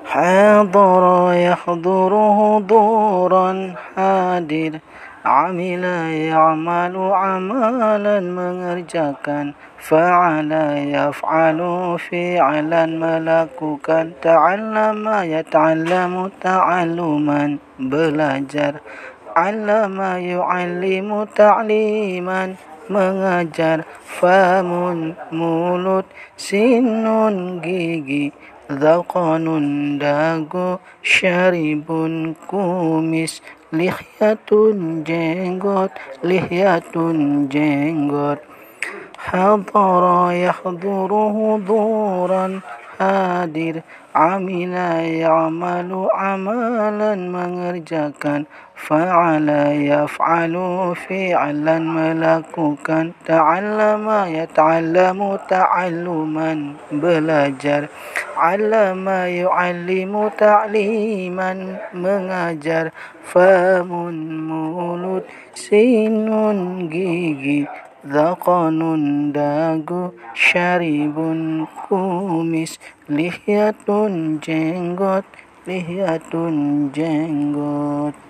حاضر يحضر حضورا hadir. Amila ya'malu amalan mengerjakan. Fa'ala yaf'alu fi'lan melakukan. Ta'allama yata'allamu ta'alluman belajar. 'Allama yu'allimu ta'liman mengajar. Famun mulut. Sinun gigi. Dhaqanun dagu. Syaribun kumis. Lihyatun jenggot. Lihyatun jenggot. Hadara yahduru huduran hadir. Amila ya'malu amalan mengerjakan. Fa'ala yaf'alu fi'lan melakukan. Ta'allama yata'allamu ta'alluman belajar. 'Allama yu'allimu ta'liman mengajar. Famun mulut. Sinun gigi. Dhaqanun dagu. Syaribun kumis. Lihyatun jenggot. Lihyatun jenggot.